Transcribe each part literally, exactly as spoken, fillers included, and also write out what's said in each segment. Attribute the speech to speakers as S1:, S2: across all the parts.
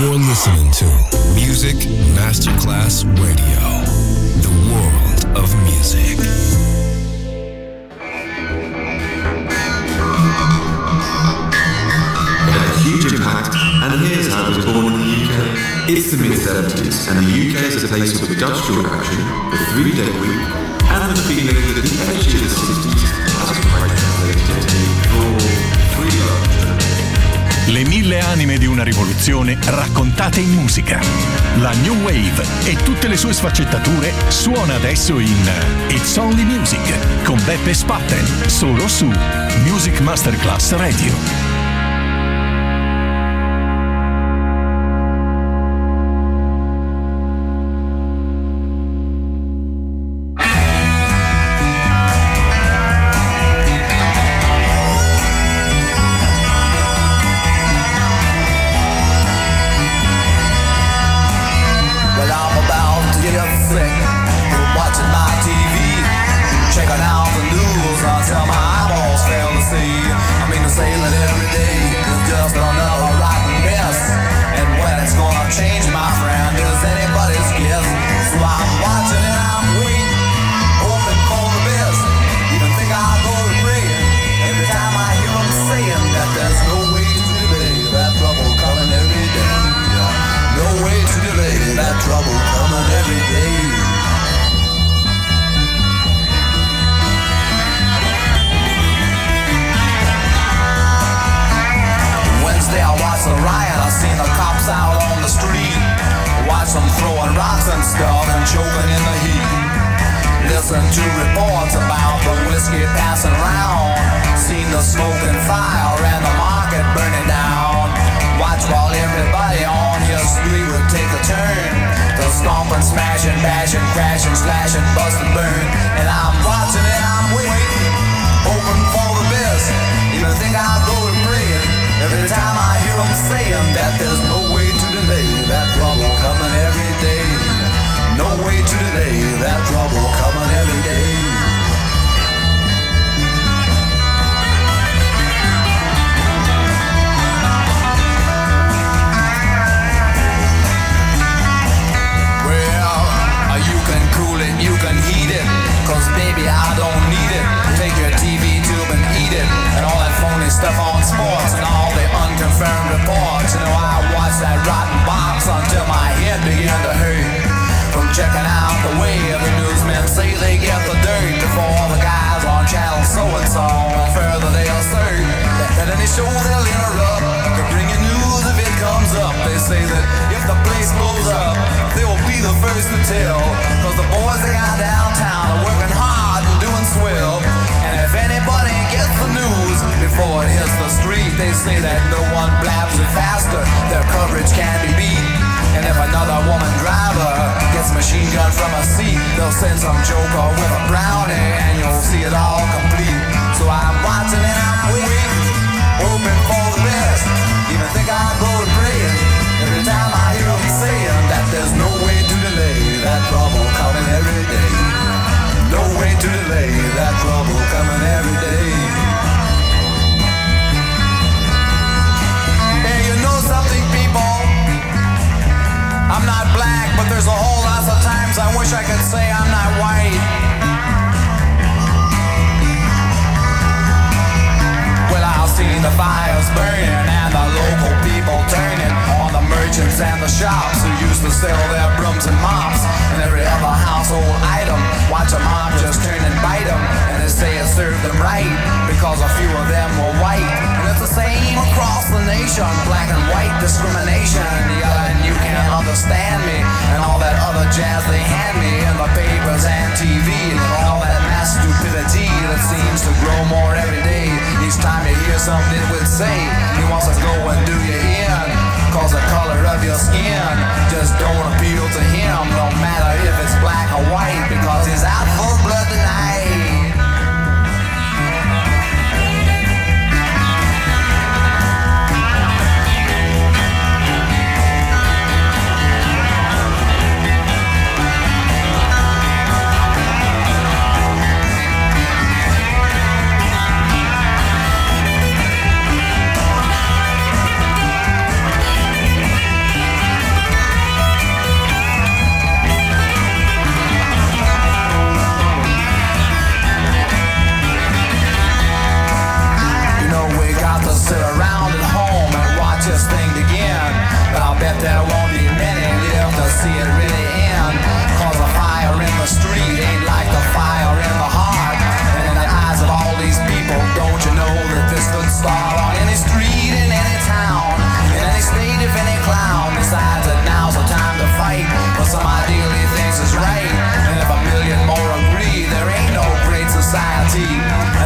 S1: You're listening to Music Masterclass Radio, the world of music.
S2: It had a huge impact, and here's how it was born in the U K. It's the mid seventies, and the U K is a place with industrial action, the three-day week, and the feeling that the edge of the sixties has quite translated for free love.
S3: Le mille anime di una rivoluzione raccontate in musica. La New Wave e tutte le sue sfaccettature suona adesso in It's Only Music con Beppe Spatten, solo su Music Masterclass Radio.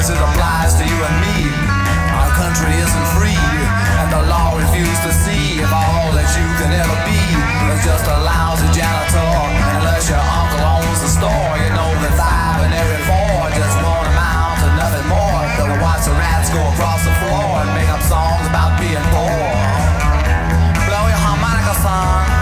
S4: as it applies to you and me. Our country isn't free, and the law refuses to see if all that you can ever be is just a lousy janitor. Unless your uncle owns the store, you know that five in every four just won't amount to nothing more than to watch the rats go across the floor and make up songs about being poor. Blow your harmonica, son.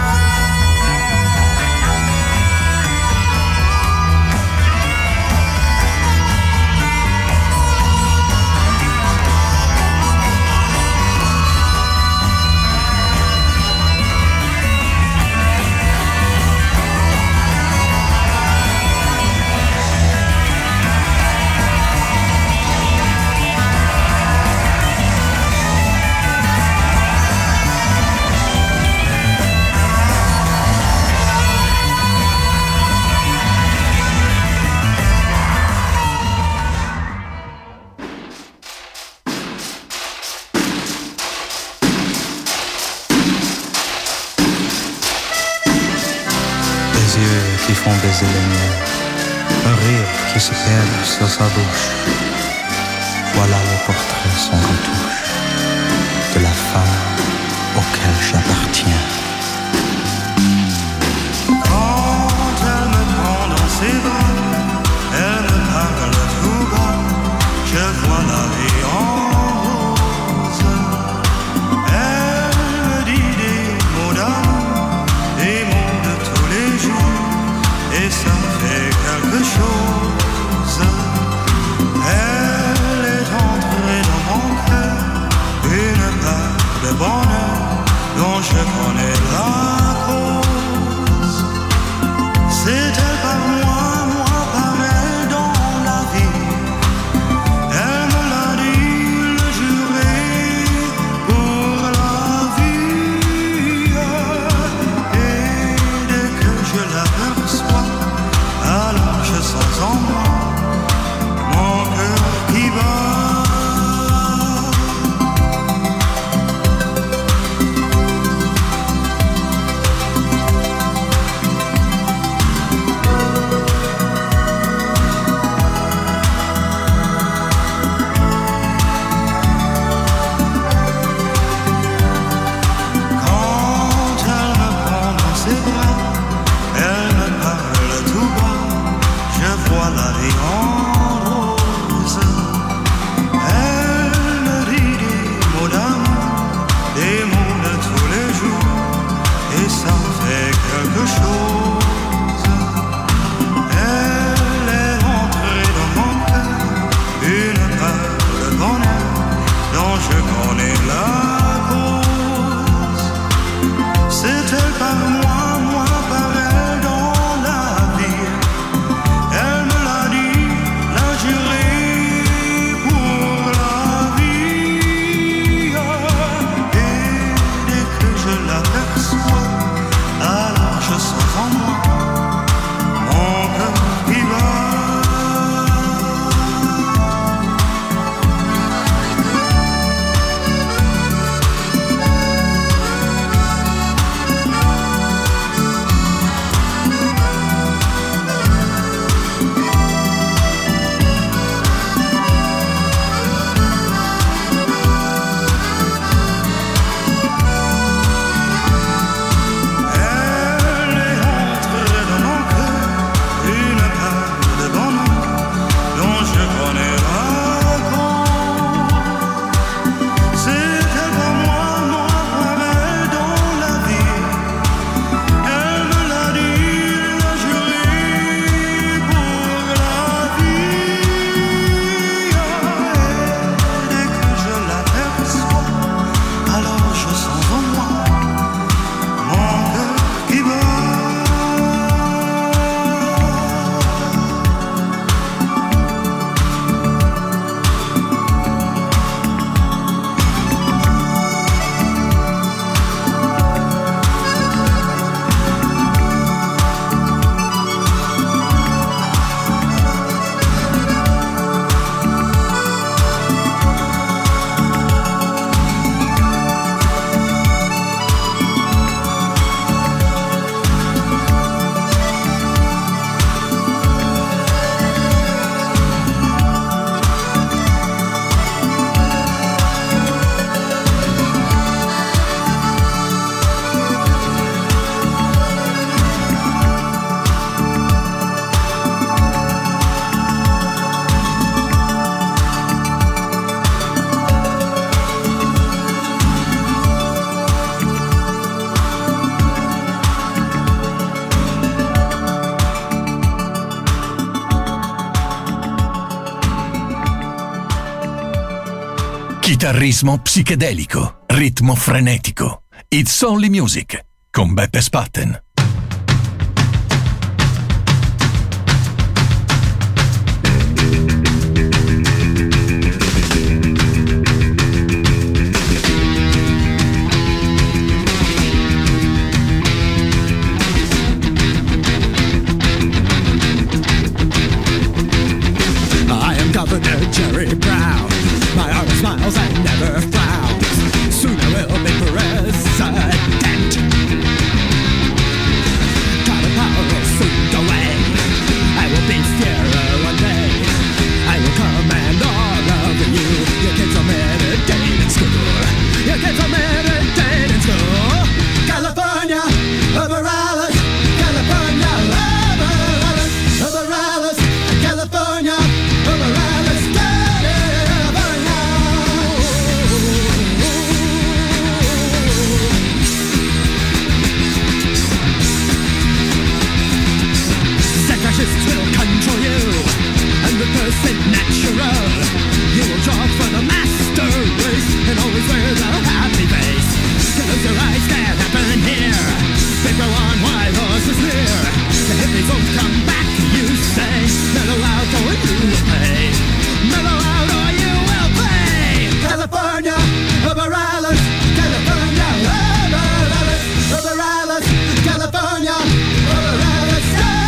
S5: Qui font baiser les miens, un rire qui se perd sur sa bouche. Voilà le portrait sans retouche de la femme auquel j'appartiens. Quand elle me prend dans ses bras, elle me parle tout bas, je vois la vie en rose. Elle me dit des mots d'amour, des mots de tous les jours. Et ça fait quelque chose. Elle est entrée dans mon cœur, une part de bonheur dont je connais la cause. C'est elle par moi, moi par elle dans la vie. Elle me l'a dit, le juré pour la vie. Et dès que je l'aperçois, alors je sens en moi mon cœur qui bat. Quand elle me prend dans ses bras, elle me parle tout bas, je vois la vie en rose. Elle me dit des mots d'amour, des mots de tous les jours, et ça fait quelque chose. Elle est entrée dans mon cœur, une part de bonheur dont je connais la cause. C'est elle par moi, moi par elle dans la vie. Elle me l'a dit, l'a juré pour la vie. Et dès que je l'aperçois, alors je sens en moi
S3: Chitarrismo psichedelico, ritmo frenetico. It's Only Music con Beppe Spatten.
S6: I am Governor Jerry Brown. My heart smiles and never frowns. Soon I will be president. Got a power soon go away. I will be here one day. I will command all of you. Your kids are meditating in school. Your kids are meditating in school. California, over Alice. California, over Alice. Over Alice. California, over Alice. Fascists will control you, and the person natural. You will draw for the master race, and always wear the happy face. Close your eyes, can't happen here. They go on while horses near. The hippies won't come back, you say. Mellow out or you will pay. Mellow out or you will pay. California, over Alice. California, over Alice. Over Alice. California, over Alice.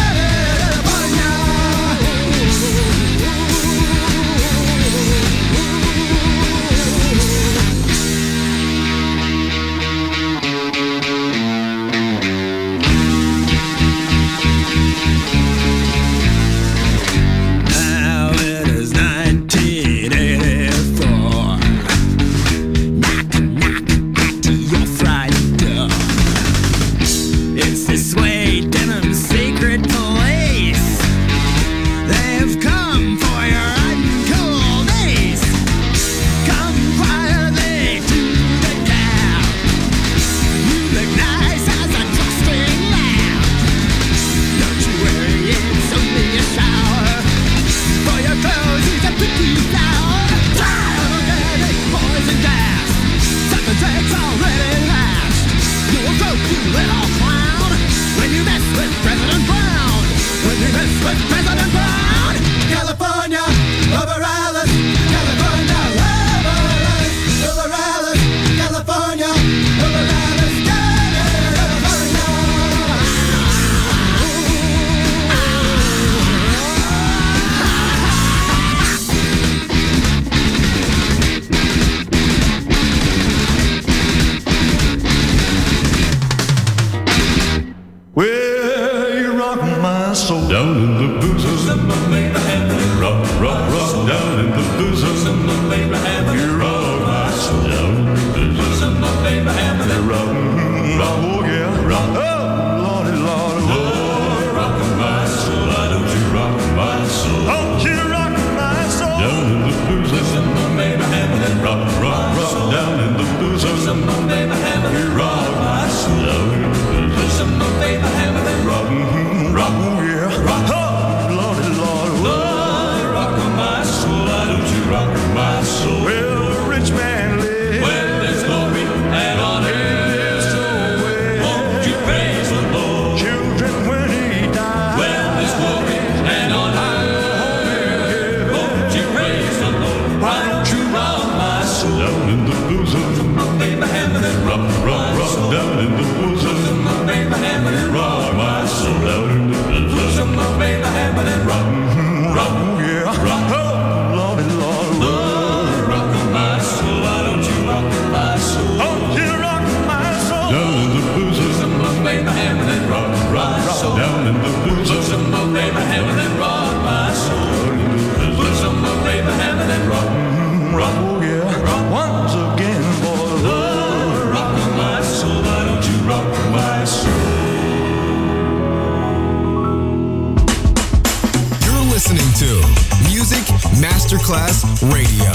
S1: Listening to Music Masterclass Radio,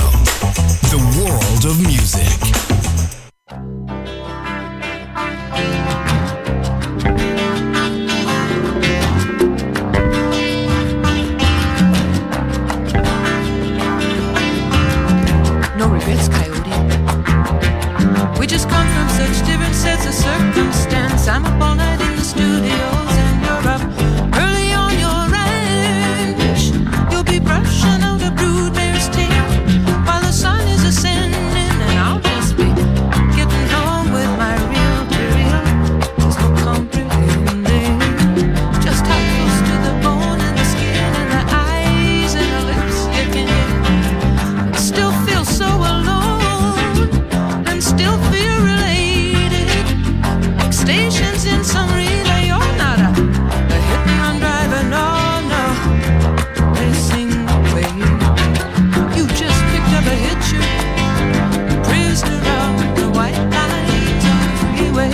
S1: the world of music.
S7: No Regrets Coyote. from such different sets of circumstance. I'm up all night in the studios and you're up early on your ranch. You'll be brushing out a broodmare's tail while the sun is ascending, and I'll just be getting home with my reel to reel. There's no comprehending just how close to the bone and the skin and the eyes and the lips you can get. Still feel so alone and still feel related, like stations in some relay. You're not a, a hit and run driver, no, no, racing away. You just picked up a hitcher, prisoner of the white lines on the freeway.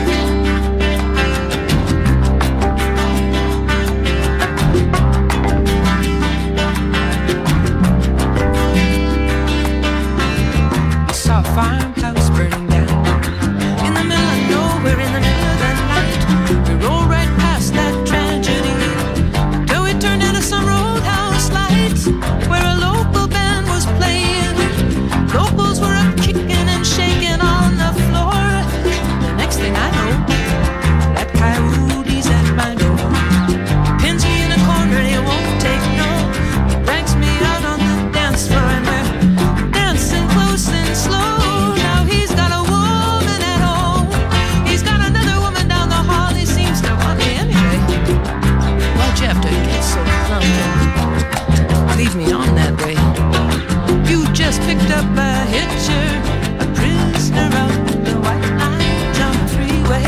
S7: We saw a farmhouse burning down in the middle of nowhere, in the middle of the night. We rolled right past that tragedy till we turned into some roadhouse lights where a local band was playing. Locals were up kicking and shaking on the floor. The next thing I know, that coyote's at my door. Pins me in a corner and he won't take no. He drags me out on the dance floor and we're dancing close and slow. Now he's got a woman at home. He's got another woman down the hall. He seems to want me anyway. Why'd you have to get so plump and leave me on that way? You just picked up a hitcher, a prisoner of the white lines on the freeway.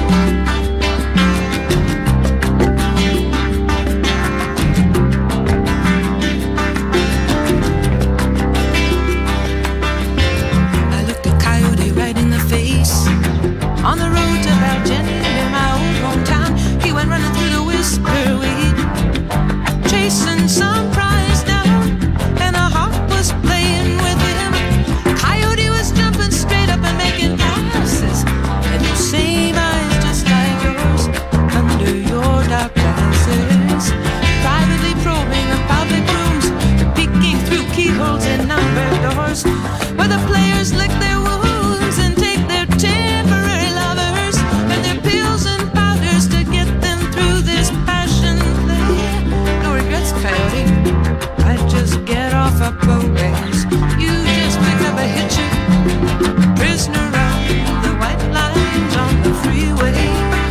S7: I looked a coyote right in the face on the road to Valjean near my old hometown. He went running through the whisper weed, chasing some prize down, and a hawk was playing with him. Coyote was jumping straight up and making passes, and those same eyes just like yours under your dark glasses, privately probing the public rooms, peeking through keyholes in numbered doors where the players lick their wounds and take their temporary lovers and their pills and powders to get them through this passion play. No regrets, coyote, I just get off a ways. You just picked up a hitcher, prisoner of the white lines on the freeway.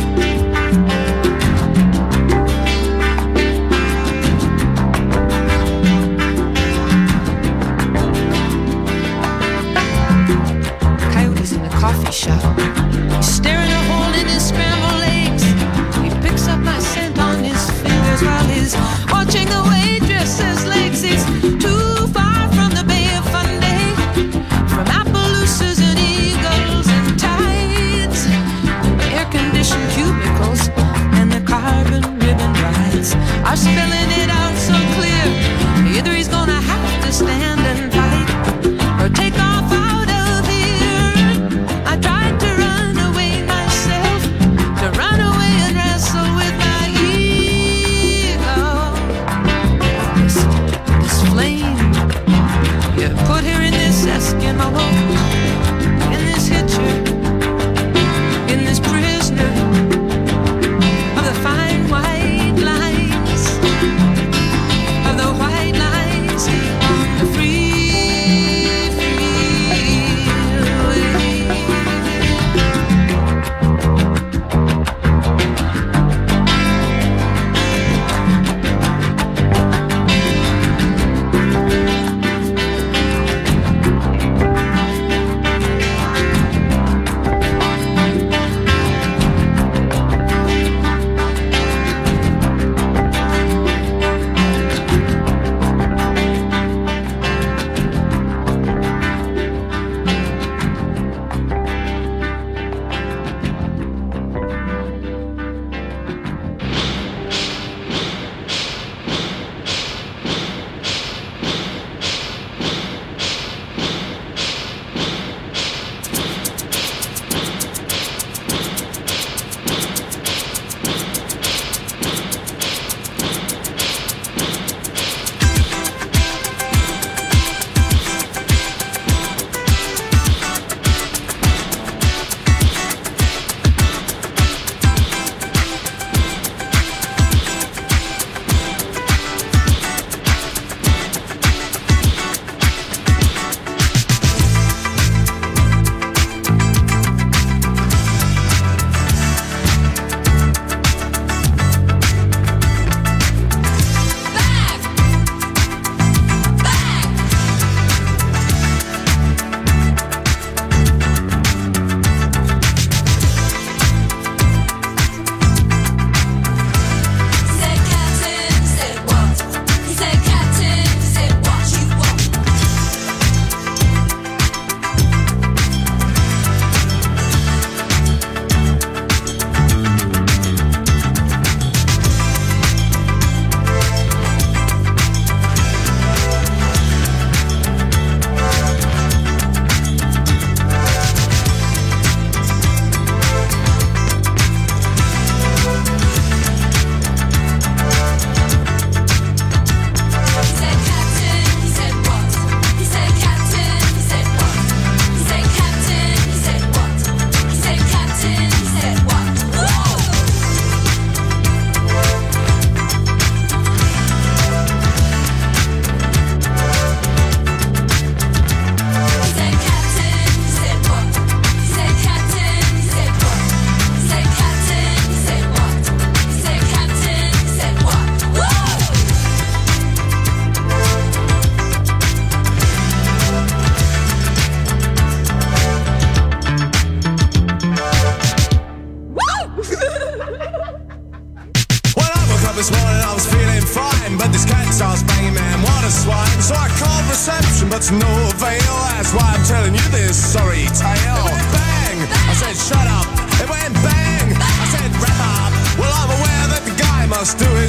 S7: Coyote's in the coffee shop. He's staring a hole in his scrambled eggs. He picks up my scent on his fingers while he's watching the waitress's legs. He's too far from the Bay of Fundy, from Appaloosas and eagles and tides, air-conditioned cubicles and the carbon ribbon rides are spelling it out so clear. Either he's gonna have to stand and fight or take off out of here. I tried to run away myself, to run away and wrestle with my ego. Listen,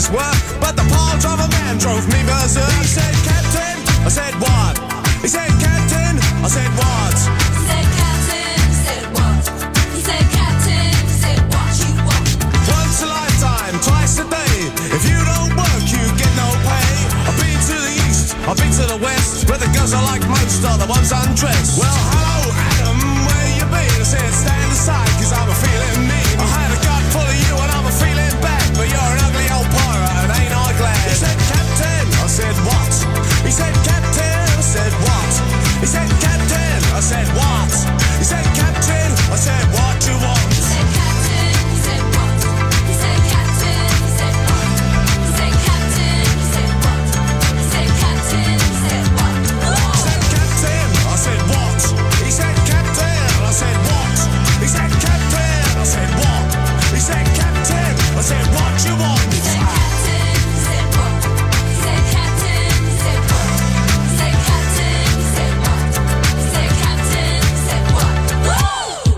S8: this work, but the pile driver man drove me berserk. He said, Captain, I said, what? He said, Captain, I said, what?
S9: He said, Captain, he said, what? He said, Captain, he said, what you want?
S8: Once a lifetime, twice a day. If you don't work, you get no pay. I've been to the east, I've been to the west, where the girls I like most are the ones undressed. Well, hello, Adam, where you been? I said, stand aside, cause I'm a feeling mean. I had a gut full of you and I'm a feeling bad, but you're an ugly old pirate and ain't I glad? He said, Captain, I said, what? He said, Captain, I said, what? He said, Captain, I said, what? He said, Captain, I said, what you want?
S9: He said, Captain, he said, what? He said, Captain, he said, what? He said, Captain, he said, what? He said, Captain, he said, what?
S8: He said, Captain, I said, what? He said, Captain, I said, what? He said, Captain, I said, what? He said, Captain, I said, what you want?
S9: He said, Captain, he said, what? He said, Captain, he said, what? He said, Captain, he said, what? He said, Captain, he said, what? Woo!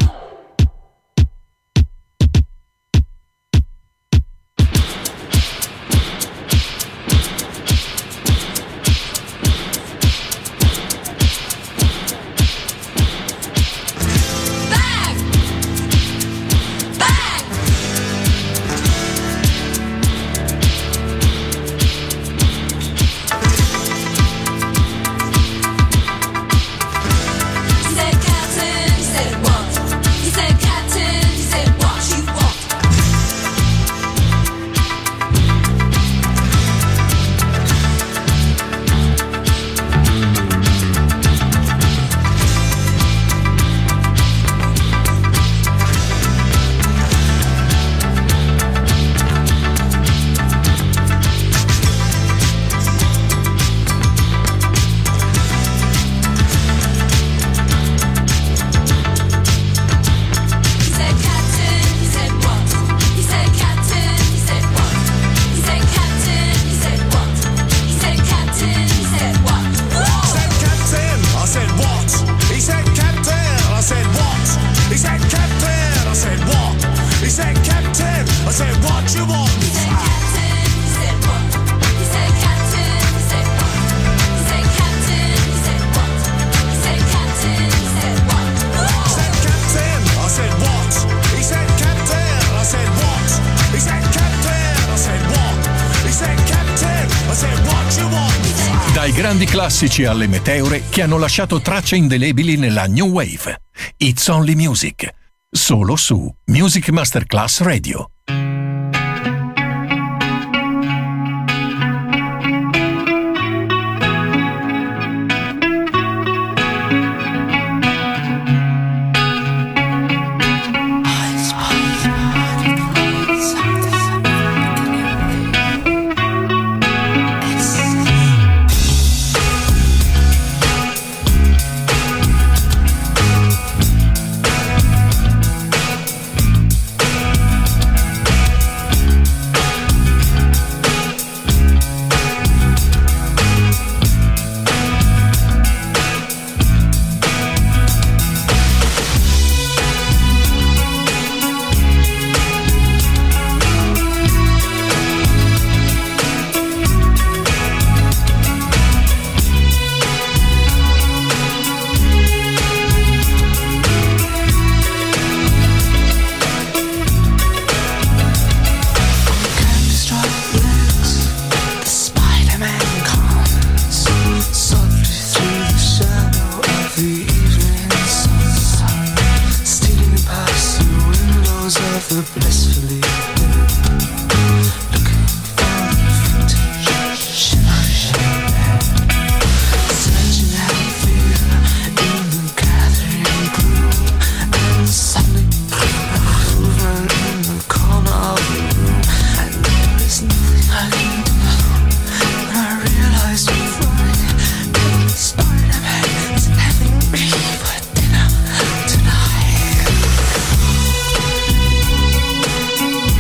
S9: Bang! Bang! He said, Captain, he said, what? He said, Captain, he said, what you want? He said, Captain, he said, what? He said, Captain, he said, what? He said, Captain, he said, what? He said, Captain, he said, what?
S8: He said, Captain, I said, what? He said, Captain, I said, what? He said, Captain, I said, what? He said, Captain, I said, what you want?
S9: He said, Captain, he said, what? He said, Captain, he said, what? He said, Captain, he said, what? He said, Captain, he said, what?
S8: He said, Captain, I said, what? He said, Captain, I said, what? He said, Captain, I said, what? He said, Captain, I said, what you want?
S3: Dai grandi classici alle meteore che hanno lasciato tracce indelebili nella New Wave. It's Only Music. Solo su Music Masterclass Radio.
S9: Spider-Man is having me for dinner tonight.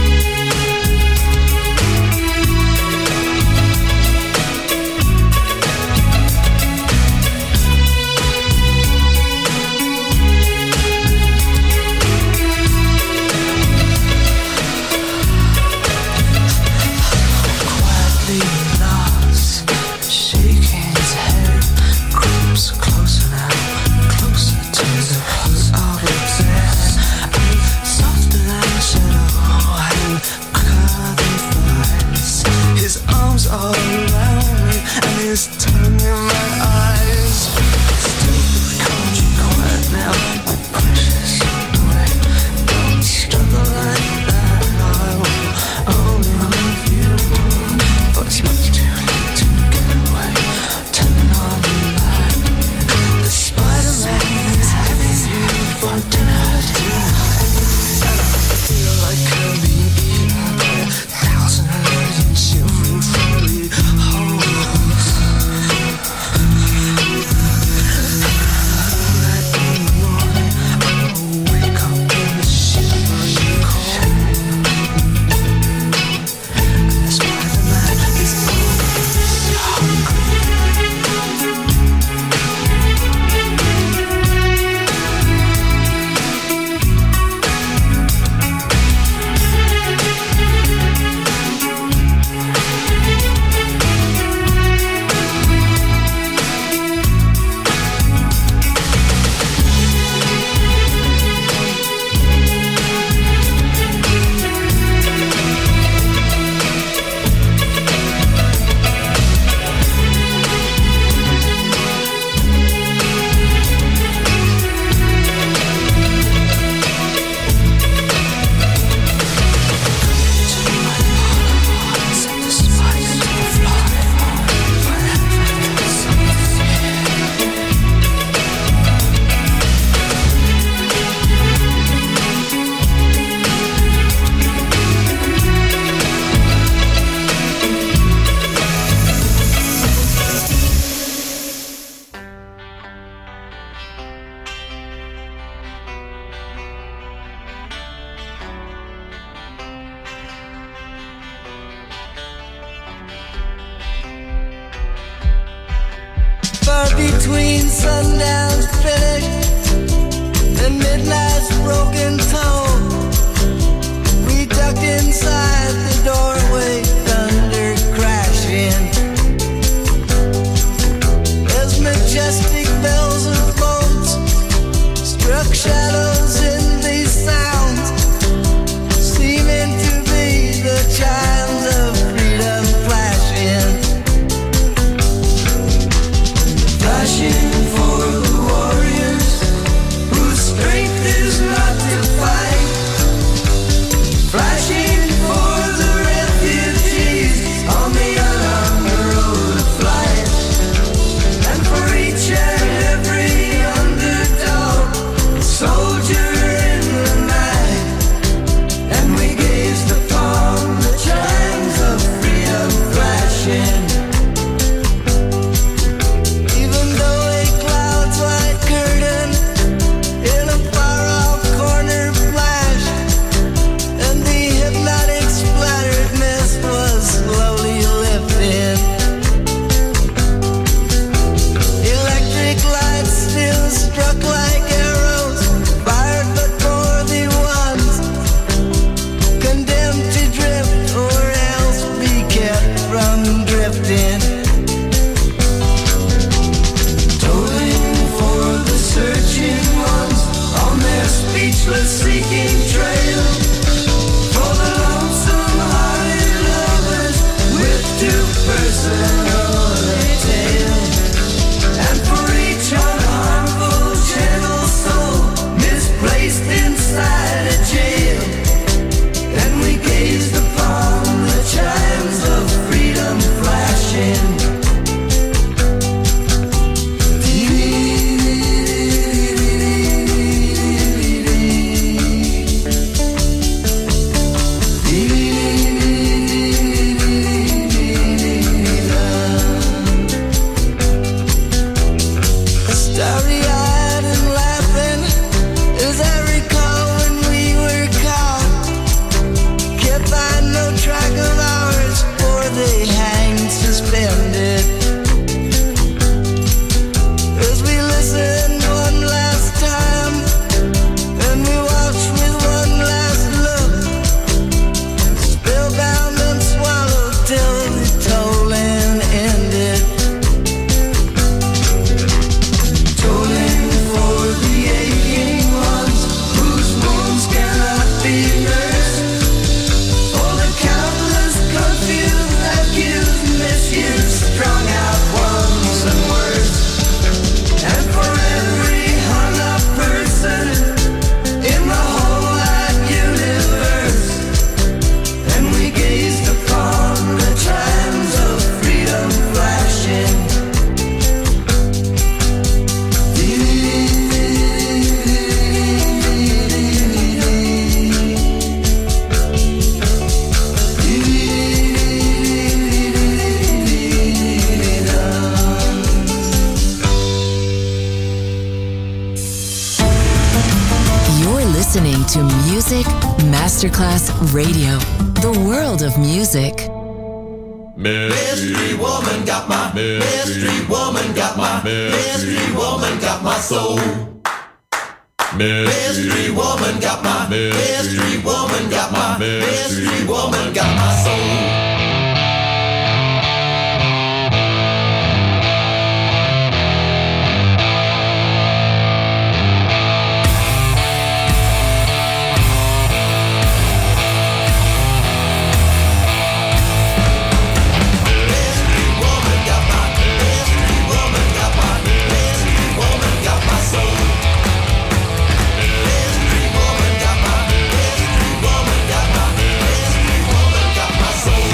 S10: between sundown's finish and midnight's broken tone. We ducked inside the doorway, thunder crashing as majestic bells of boats struck shadows in these sounds, seeming to be the chimes of freedom flashing. Flashing for the warriors whose strength is not to fight. Flashing for the refugees on the unarmed road of flight. And for each and every underdog, soldier in the night. And we gazed upon the chimes of freedom flashing. Even though a cloud's white curtain in a far-off corner flashed, and the hypnotic splattered mist was slowly lifting, electric lights still struck like arrows, fired but for the ones condemned to drift or else be kept from drifting. Tolling for the searching ones on their speechless seeking trail, for the lonesome hearted lovers with too personal a tale, and for each unharmful gentle soul misplaced inside a jail. And we gazed upon the chimes of freedom flashing. Starry-eyed and laughing as I recall when we were caught, kept by no track of ours, for they hanged suspended. As we listened one last time, and we watched with one last look, spellbound and swallowed till the tolling ended. Tolling for the aching ones whose wounds cannot be nursed, for the countless confused, accused, misused, strung out ones and worse, and for every hung up person in the whole wide universe. And we gazed upon the chimes of freedom flashing.
S11: You're listening to Music Masterclass Radio, the world of music.
S12: Mystery woman got my mystery woman got my mystery woman got my soul. Mystery woman got my mystery woman got my mystery woman got my soul.
S8: Soul.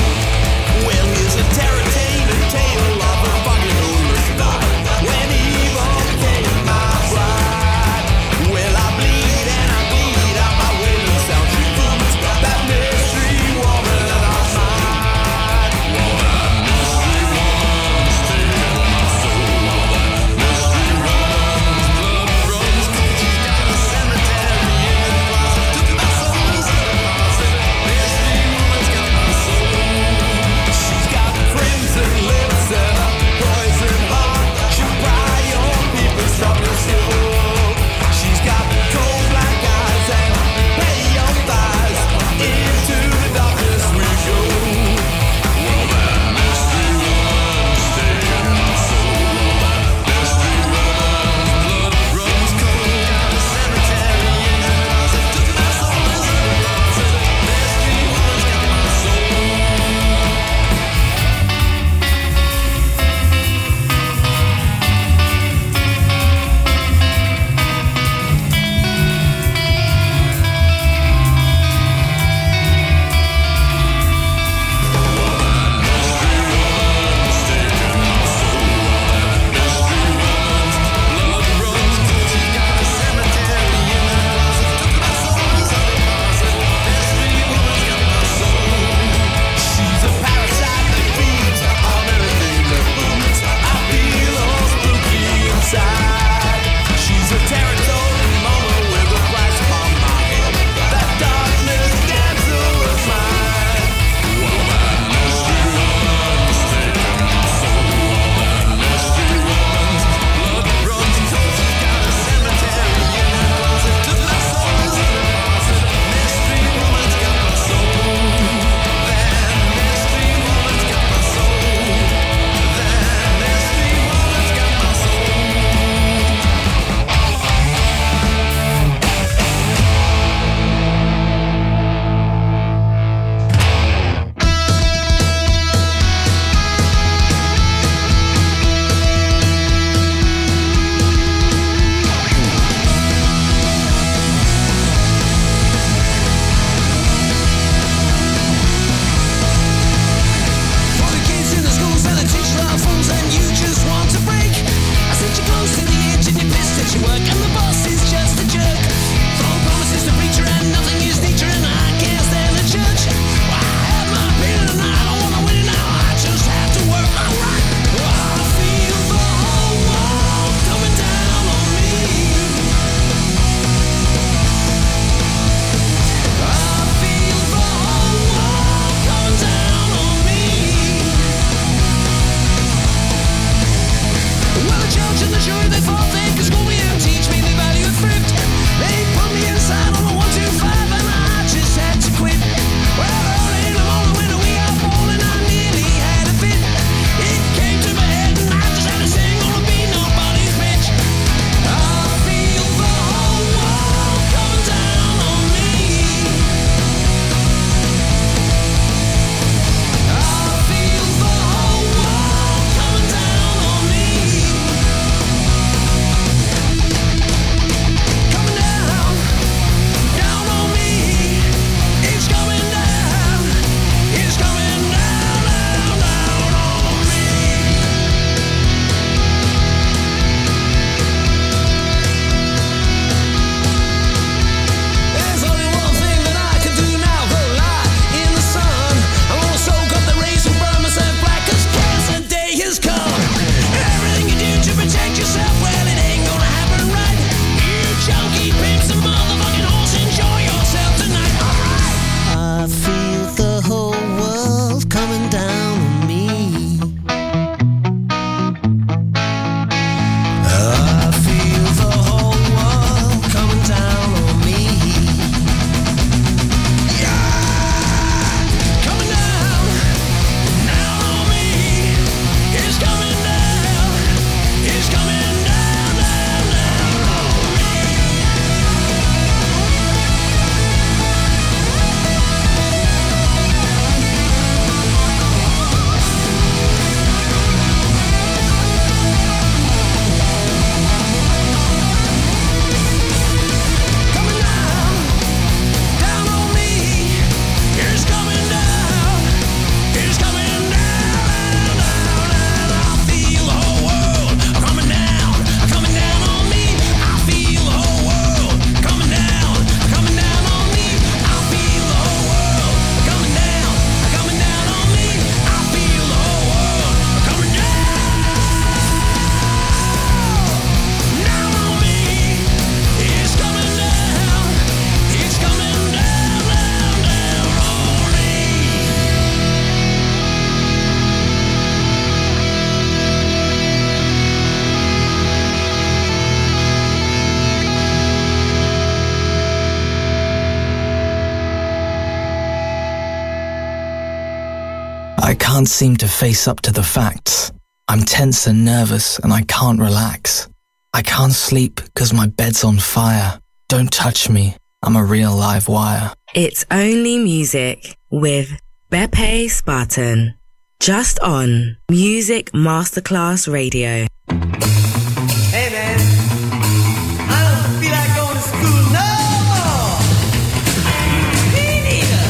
S13: can't seem to face up to the facts. I'm tense and nervous and I can't relax. I can't sleep because my bed's on fire. Don't touch me, I'm a real live wire.
S14: It's Only Music with Beppe Spartan. Just on Music Masterclass Radio.
S10: Hey man, I don't feel like going to school no more. Me neither.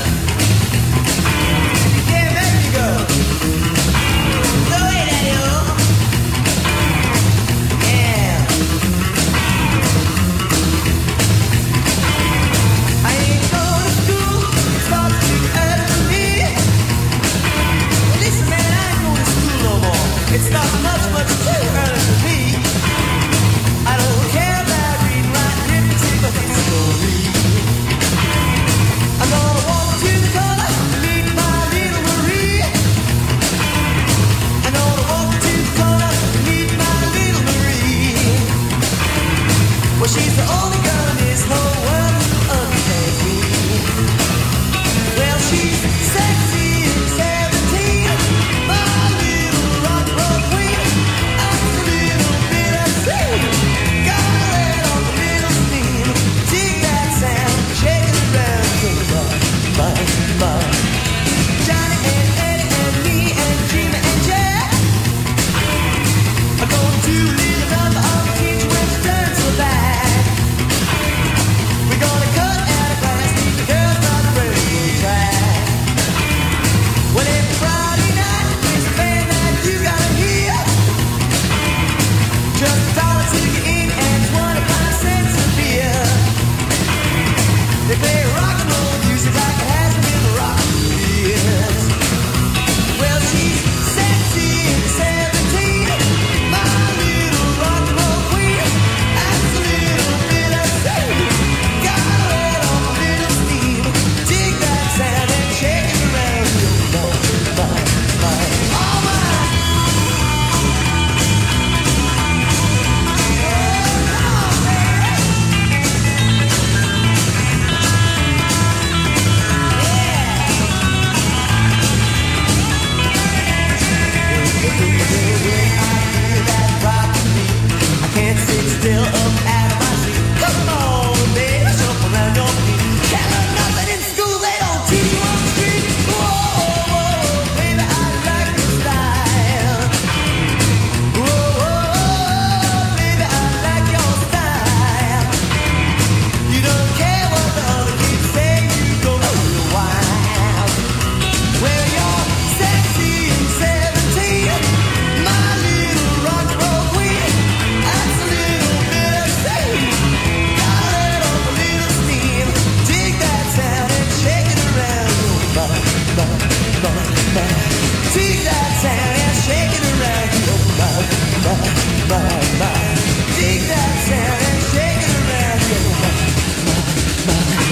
S10: Yeah, back you go. Go away, daddy-o. Yeah. I ain't going to school. It starts too early for me. Listen, man, I ain't going to school no more. It's not much, much too early for me. I don't care about reading, writing, arithmetic, or history. I'm gonna walk to the corner to meet my little Marie. I'm gonna walk to the corner to meet my little Marie. Well, she's the only girl in this whole world who understands me. Well, she's sexy and seventeen, my little rock and roll queen. I'm a little bit upset. Got her head on the little steam. Dig that sound, shake it around, think about my, my. Johnny and Eddie and me and Jimmy and Jack are going to live another of the teacher when she turns her back. We're gonna cut out a class, keep the girls on the radio track. Well, every Friday night is a band that you gotta hear. Just a dollar to get in and twenty-five cents a beer. They play rock and roll music like it hasn't been rock for years. Well, she's sexy and seventeen, my little rock and roll queen. That's a little bit of sin. Got her head on a little steam. Dig that sound and shake it around. My, my, my, all mine. I can't sit still up out of my seat. Come on, baby, jump around your feet. Can't learn nothing in school, they don't teach you on the street. Whoa, whoa, baby, I like your style. Whoa, whoa, baby, I like your style. You don't care what the other kids say, you go real wild. Well, you're sexy and seventeen, my little rock and roll queen. That's a little bit of sin. Got her head on a little steam. Dig that sound and shake it around. Ba, ba, ba, ba. Dig that sound and shake it around. Ba, ba, ba, ba. Dig that sound and shake it around. Ba, ba, ba.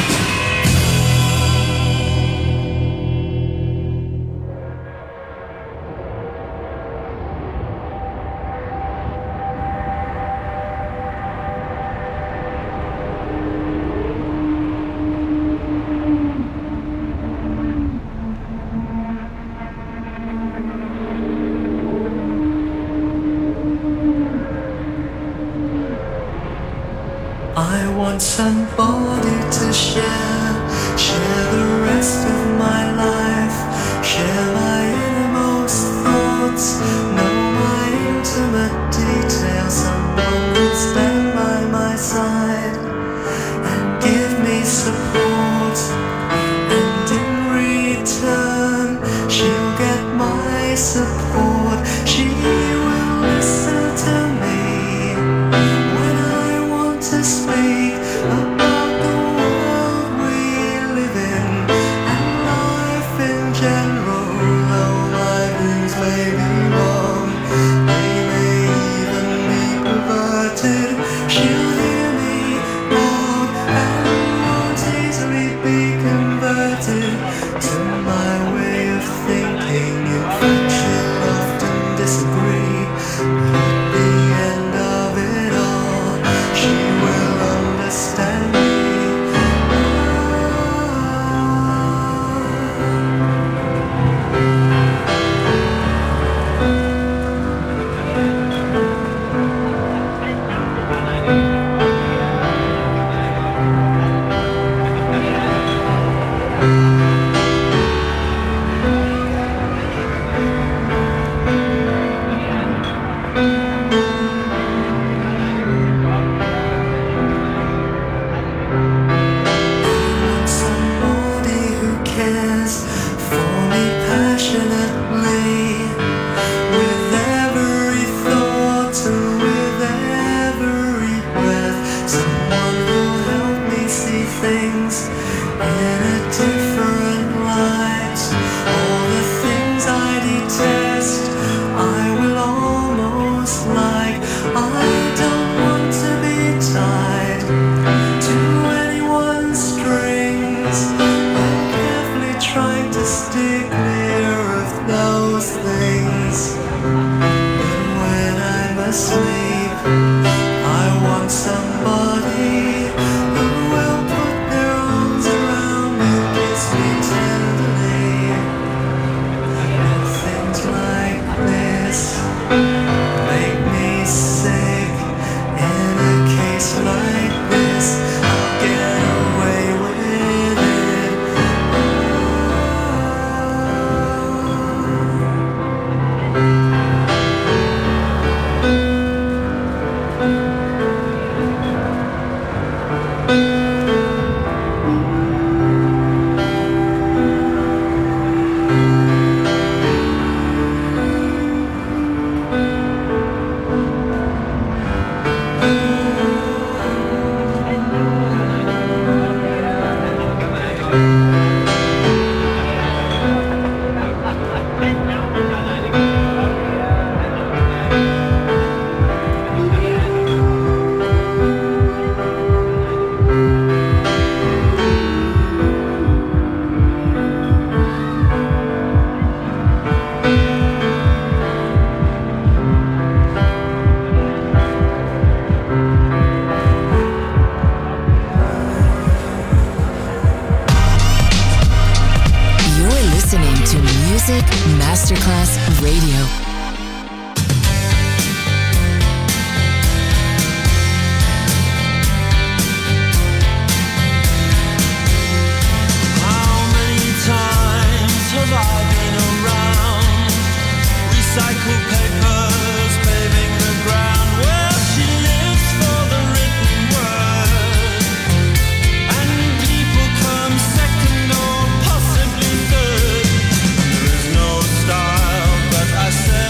S15: I want somebody to share, share the rest of my life, share my innermost thoughts, know my intimate details. Someone will stand by my side and give me support, and in return she'll get my support. She will listen to me when I want to speak about the world we live in.
S11: Masterclass Radio.
S16: I said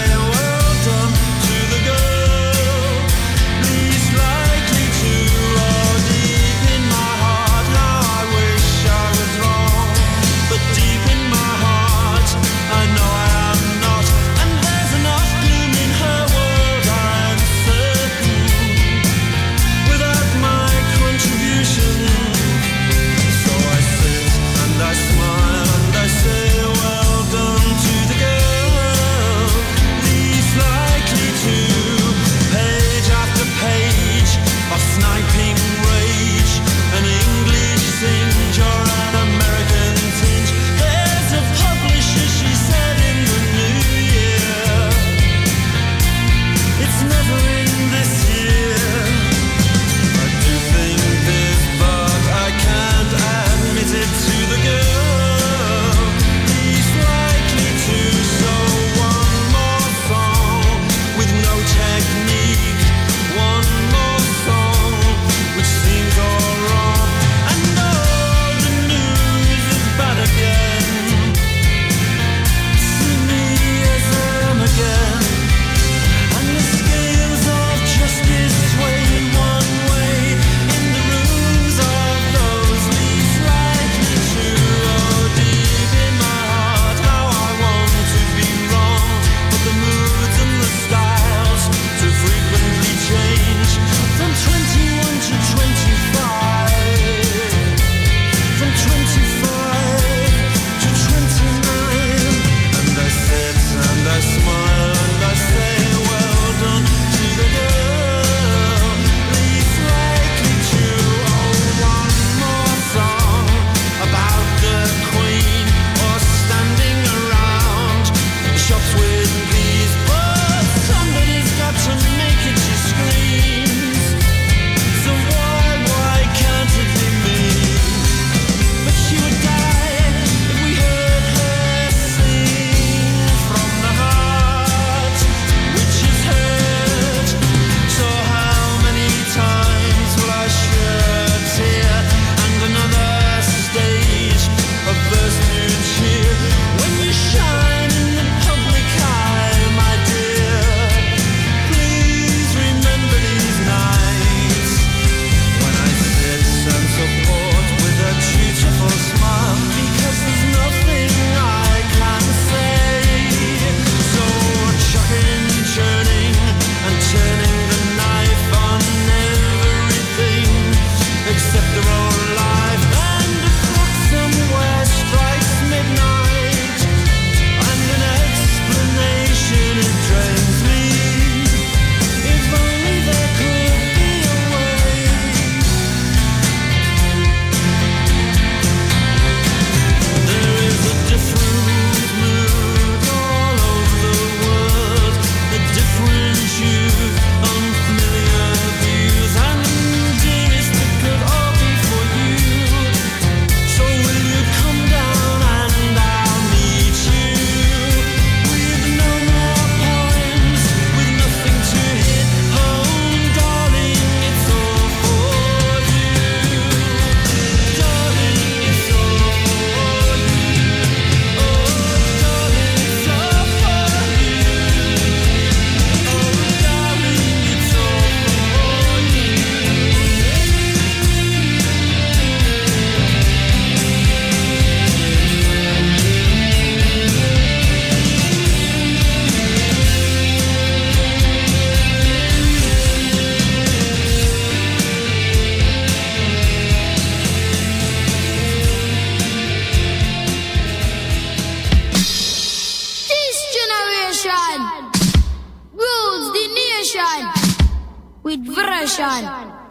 S16: with version.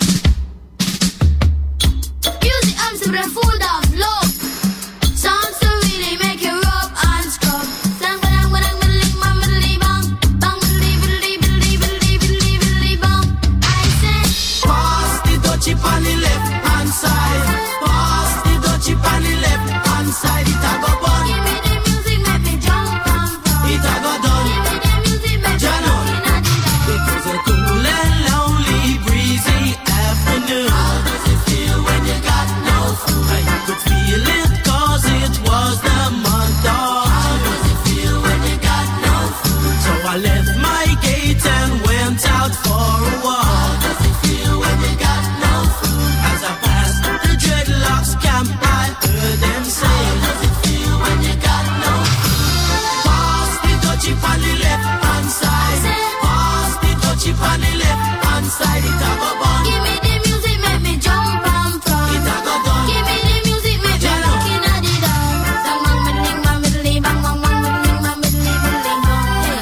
S16: Music I'm super full of love. Songs to really make you rub and scrub. Slang when I'm when I'm middly bang middly bang bang middly middly middly middly middly middly bang. I say
S10: Pass the dutchie on the left hand side. Pass the dutchie on the left hand side. It a go bun.
S16: give me the music, make me jump and from.
S10: It a go done.
S16: Give me the music, make me
S10: Jano.
S16: looking at the down.
S10: It was a cool and lonely, breezy afternoon. How does it feel when you got no food? I could feel it 'cause it was the month of June. How does it feel when you got no food? So I left my gate and went out for a walk. How does it feel when you got no food? As I passed the dreadlocks camp, I heard them say, how does it feel when you got no food? Pass the dutchie on the left hand side. Pass the dutchie on the left hand side. It a go bun.
S16: Give me the music, make me jump and from.
S10: It a go done.
S16: Give me the music, make me
S10: Jano.
S16: looking at the down. Bang bang middly bang middly bang bang bang middly bang middly middly bang.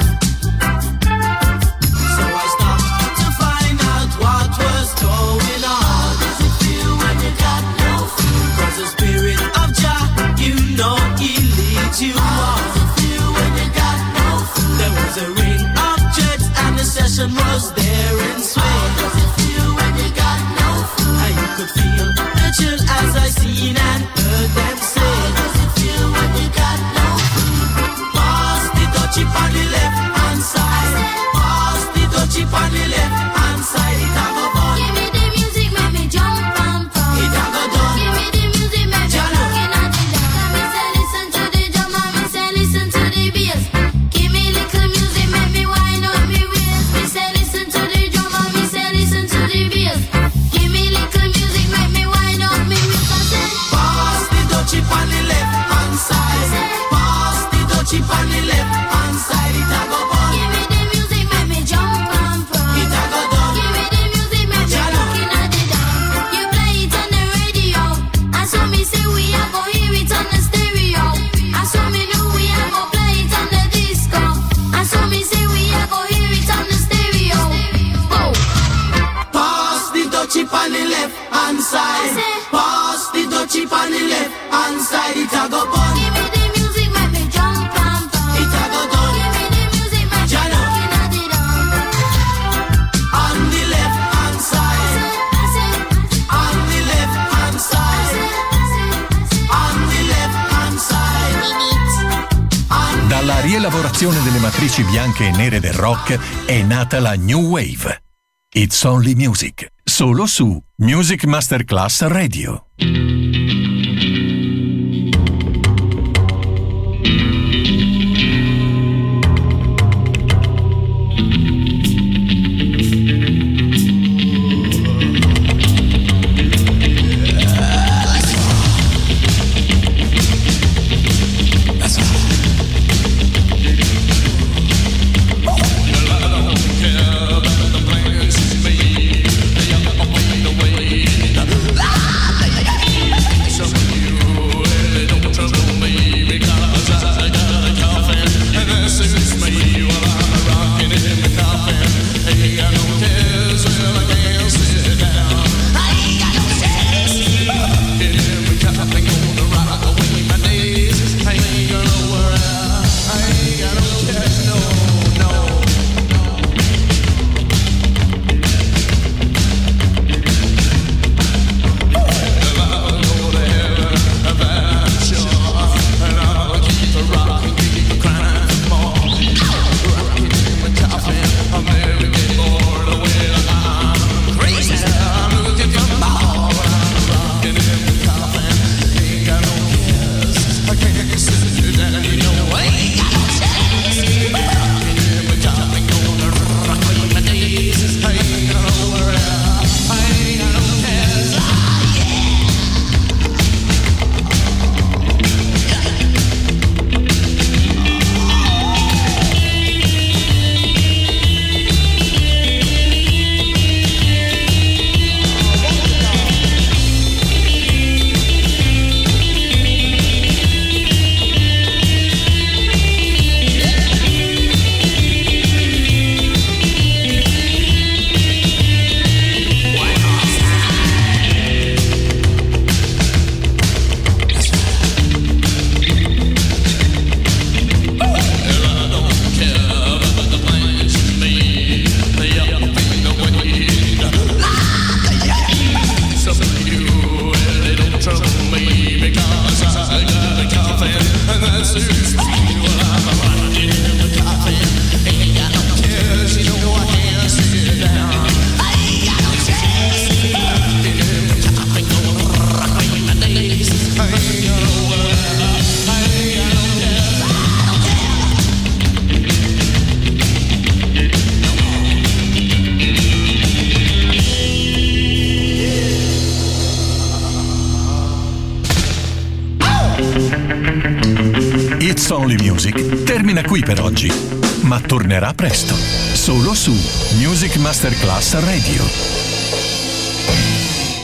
S10: So I stopped to find out what was going on. How does it feel when you got no food? 'Cause the spirit of Jah, you know he leads you on. How does it feel when you got no food? There was a ring of jets and the session was there in swing. How does it feel when you got no food? And you could feel the chill as I seen and heard them say. How does it feel when you got no food? Pass the dutchie on the left hand side. Pass the dutchie on the left hand side. It a go bun.
S16: Give me the music, make me jump and from.
S10: It a go done.
S16: Give me the music, make me
S10: Jano.
S16: looking at the down. Me say listen to the drum and me say listen to the bass. Give me little music, make me wind up me waist. Me say listen to the drum and me say listen to the bass. Give me little music, make me wind up me waist. I say
S10: Pass the dutchie on the left hand side. Pass the dutchie on the left hand side. It a go bun.
S16: give me the music, make me jump and from.
S10: It a go done.
S16: Give me the music, make me
S10: Jano.
S16: looking at the down. You play it on the radio, and so me say we a go hear it on the stereo. And so me know we a go play it on the disco. And so me say we a go hear it on the stereo. Go.
S10: Pass the dutchie on the left hand side. Pass the dutchie on the left hand side. It a go bun.
S16: Give me the music, make me jump and from.
S10: It a go done.
S16: Give me the music, make me
S10: Jano.
S16: looking at the down.
S10: On the left hand side. On the left hand side. On the left hand side. On
S3: Dalla rielaborazione delle matrici bianche e nere del rock è nata la New Wave. It's Only Music, solo su Music Masterclass Radio.
S10: the
S3: It's Only Music termina qui per oggi, ma tornerà presto, solo su Music Masterclass Radio.